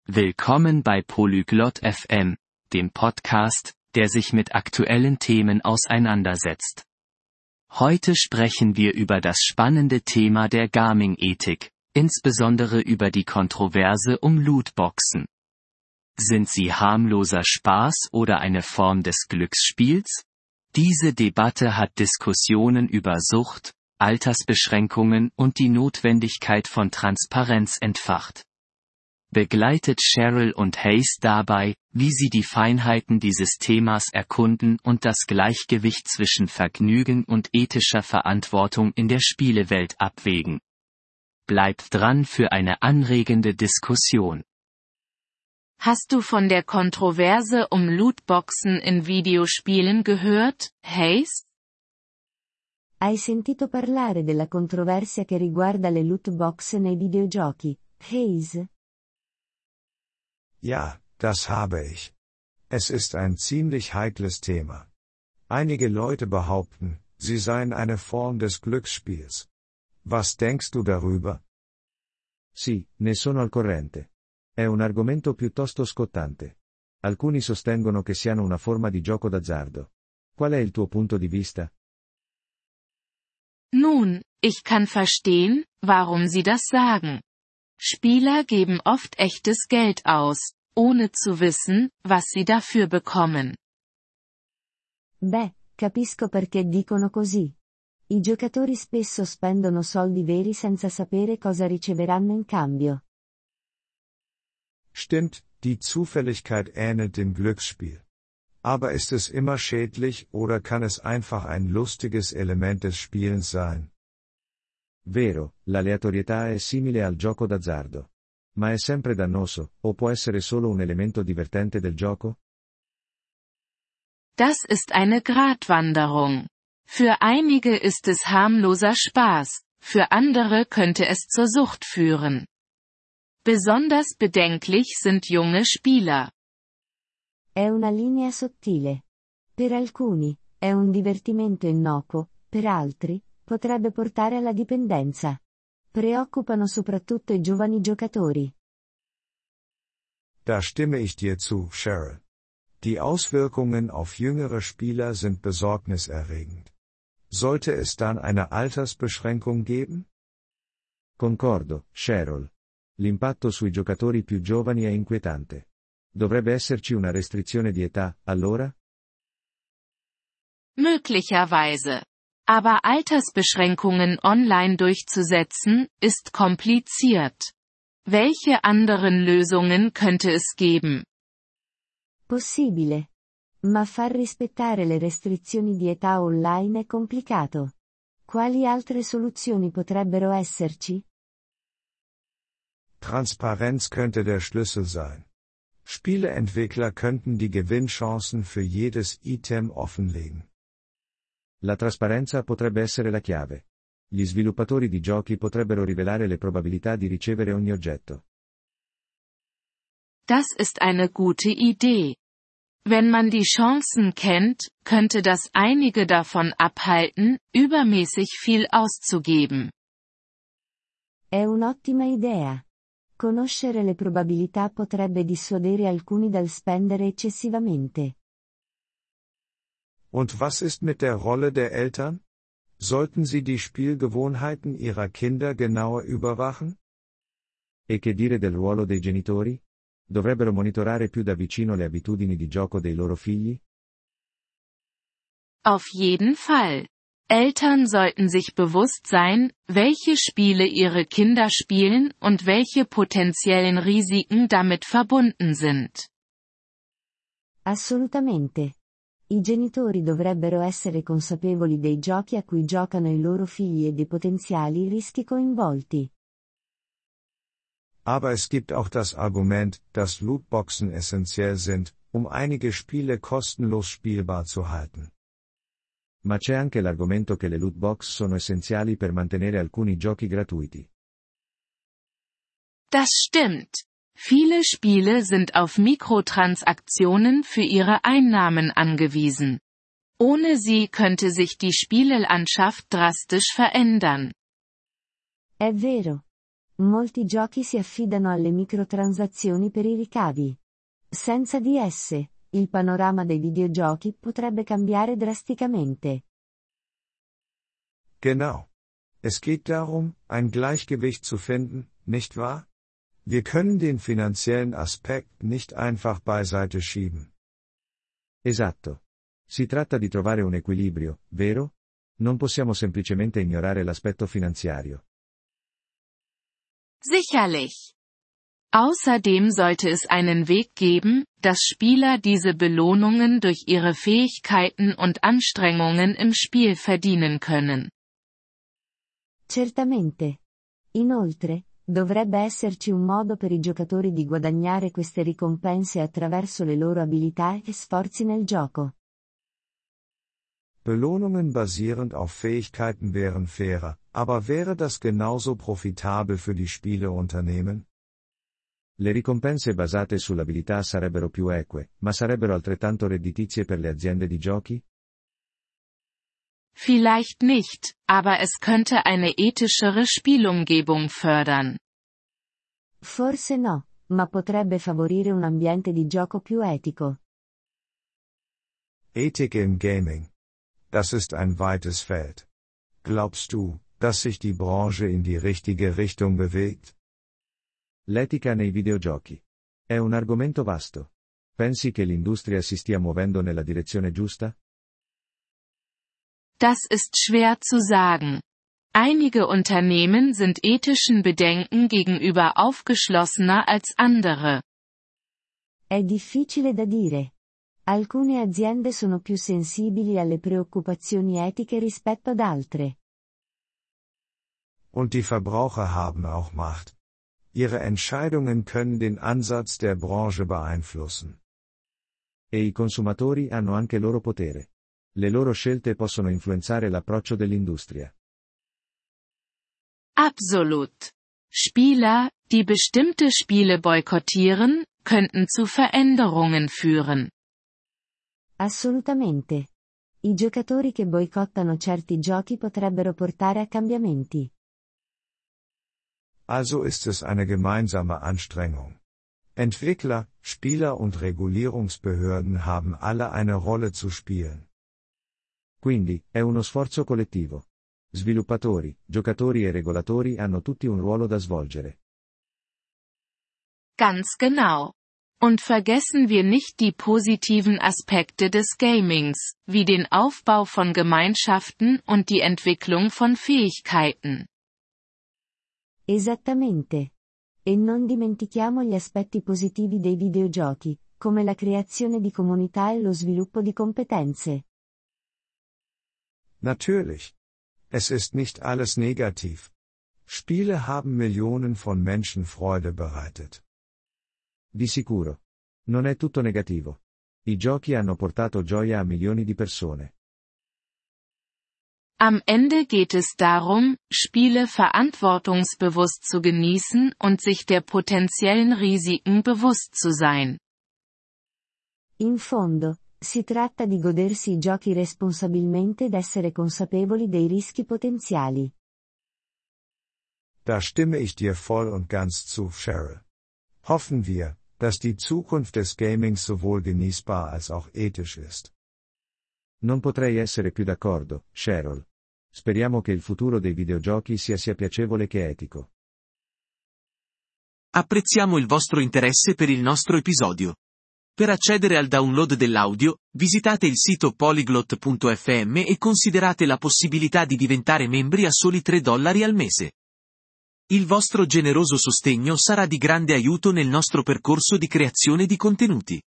Willkommen bei Polyglot FM, dem Podcast, der sich mit aktuellen Themen auseinandersetzt. Heute sprechen wir über das spannende Thema der Gaming-Ethik, insbesondere über die Kontroverse um Lootboxen. Sind sie harmloser Spaß oder eine Form des Glücksspiels? Diese Debatte hat Diskussionen über Sucht, Altersbeschränkungen und die Notwendigkeit von Transparenz entfacht. Begleitet Cheryl und Hayes dabei, wie sie die Feinheiten dieses Themas erkunden und das Gleichgewicht zwischen Vergnügen und ethischer Verantwortung in der Spielewelt abwägen. Bleibt dran für eine anregende Diskussion. Hast du von der Kontroverse um Lootboxen in Videospielen gehört, Hayes? Hai sentito parlare della controversia che riguarda le loot box nei videogiochi, Hayes? Ja, das habe ich. Es ist ein ziemlich heikles Thema. Einige Leute behaupten, sie seien eine Form des Glücksspiels. Was denkst du darüber? Sì, ne sono al corrente. È un argomento piuttosto scottante. Alcuni sostengono che siano una forma di gioco d'azzardo. Qual è il tuo punto di vista? Nun, ich kann verstehen, warum sie das sagen. Spieler geben oft echtes Geld aus, ohne zu wissen, was sie dafür bekommen. Beh, capisco perché dicono così. I giocatori spesso spendono soldi veri senza sapere cosa riceveranno in cambio. Stimmt, die Zufälligkeit ähnelt dem Glücksspiel. Aber ist es immer schädlich oder kann es einfach ein lustiges Element des Spielens sein? Vero, l'aleatorietà è simile al gioco d'azzardo. Ma è sempre dannoso, o può essere solo un elemento divertente del gioco? Das ist eine Gratwanderung. Für einige ist es harmloser Spaß, für andere könnte es zur Sucht führen. Besonders bedenklich sind junge Spieler. È una linea sottile. Per alcuni, è un divertimento innocuo, per altri, potrebbe portare alla dipendenza. Preoccupano soprattutto i giovani giocatori. Da stimme ich dir zu, Cheryl. Die Auswirkungen auf jüngere Spieler sind besorgniserregend. Sollte es dann eine Altersbeschränkung geben? Concordo, Cheryl. L'impatto sui giocatori più giovani è inquietante. Dovrebbe esserci una restrizione di età, allora? Möglicherweise. Aber Altersbeschränkungen online durchzusetzen, ist kompliziert. Welche anderen Lösungen könnte es geben? Possibile. Ma far rispettare le restrizioni di età online è complicato. Quali altre soluzioni potrebbero esserci? Transparenz könnte der Schlüssel sein. Spieleentwickler könnten die Gewinnchancen für jedes Item offenlegen. La trasparenza potrebbe essere la chiave. Gli sviluppatori di giochi potrebbero rivelare le probabilità di ricevere ogni oggetto. Das ist eine gute Idee. Wenn man die Chancen kennt, könnte das einige davon abhalten, übermäßig viel auszugeben. È un'ottima idea. Conoscere le probabilità potrebbe dissuadere alcuni dal spendere eccessivamente. Und was ist mit der Rolle der Eltern? Sollten sie die Spielgewohnheiten ihrer Kinder genauer überwachen? E che dire del ruolo dei genitori? Dovrebbero monitorare più da vicino le abitudini di gioco dei loro figli? Auf jeden Fall. Eltern sollten sich bewusst sein, welche Spiele ihre Kinder spielen und welche potenziellen Risiken damit verbunden sind. Assolutamente. I genitori dovrebbero essere consapevoli dei giochi a cui giocano i loro figli e dei potenziali rischi coinvolti. Aber es gibt auch das Argument, dass Lootboxen essentiell sind, um einige Spiele kostenlos spielbar zu halten. Ma c'è anche l'argomento che le loot box sono essenziali per mantenere alcuni giochi gratuiti. Das stimmt. Viele Spiele sind auf Mikrotransaktionen für ihre Einnahmen angewiesen. Ohne sie könnte sich die Spielelandschaft drastisch verändern. È vero. Molti giochi si affidano alle microtransazioni per i ricavi. Senza di esse, il panorama dei videogiochi potrebbe cambiare drasticamente. Genau. Es geht darum, ein Gleichgewicht zu finden, nicht wahr? Wir können den finanziellen Aspekt nicht einfach beiseite schieben. Esatto. Si tratta di trovare un equilibrio, vero? Non possiamo semplicemente ignorare l'aspetto finanziario. Sicherlich. Außerdem sollte es einen Weg geben, dass Spieler diese Belohnungen durch ihre Fähigkeiten und Anstrengungen im Spiel verdienen können. Certamente. Inoltre, dovrebbe esserci un modo per i giocatori di guadagnare queste ricompense attraverso le loro abilità e sforzi nel gioco. Belohnungen basierend auf Fähigkeiten wären fairer, aber wäre das genauso profitabel für die Spieleunternehmen? Le ricompense basate sull'abilità sarebbero più eque, ma sarebbero altrettanto redditizie per le aziende di giochi? Vielleicht nicht, aber es könnte eine ethischere Spielumgebung fördern. Forse no, ma potrebbe favorire un ambiente di gioco più etico. Ethik im Gaming. Das ist ein weites Feld. Glaubst du, dass sich die Branche in die richtige Richtung bewegt? L'etica nei videogiochi. È un argomento vasto. Pensi che l'industria si stia muovendo nella direzione giusta? Das ist schwer zu sagen. Einige Unternehmen sind ethischen Bedenken gegenüber aufgeschlossener als andere. È difficile da dire. Alcune aziende sono più sensibili alle preoccupazioni etiche rispetto ad altre. Und die Verbraucher haben auch Macht. Ihre Entscheidungen können den Ansatz der Branche beeinflussen. E i consumatori hanno anche loro potere. Le loro scelte possono influenzare l'approccio dell'industria. Absolut. Spieler, die bestimmte Spiele boykottieren, könnten zu Veränderungen führen. Assolutamente. I giocatori che boicottano certi giochi potrebbero portare a cambiamenti. Also ist es eine gemeinsame Anstrengung. Entwickler, Spieler und Regulierungsbehörden haben alle eine Rolle zu spielen. Quindi, è uno sforzo collettivo. Sviluppatori, giocatori e regolatori hanno tutti un ruolo da svolgere. Ganz genau. Und vergessen wir nicht die positiven Aspekte des Gamings, wie den Aufbau von Gemeinschaften und die Entwicklung von Fähigkeiten. Esattamente. E non dimentichiamo gli aspetti positivi dei videogiochi, come la creazione di comunità e lo sviluppo di competenze. Natürlich. Es ist nicht alles negativ. Spiele haben Millionen von Menschen Freude bereitet. Di sicuro. Non è tutto negativo. I giochi hanno portato gioia a milioni di persone. Am Ende geht es darum, Spiele verantwortungsbewusst zu genießen und sich der potenziellen Risiken bewusst zu sein. In fondo, si tratta di godersi i giochi responsabilmente ed essere consapevoli dei rischi potenziali. Da stimme ich dir voll und ganz zu, Cheryl. Hoffen wir, dass die Zukunft des Gamings sowohl genießbar als auch ethisch ist. Non potrei essere più d'accordo, Cheryl. Speriamo che il futuro dei videogiochi sia piacevole che etico. Apprezziamo il vostro interesse per il nostro episodio. Per accedere al download dell'audio, visitate il sito polyglot.fm e considerate la possibilità di diventare membri a soli $3 al mese. Il vostro generoso sostegno sarà di grande aiuto nel nostro percorso di creazione di contenuti.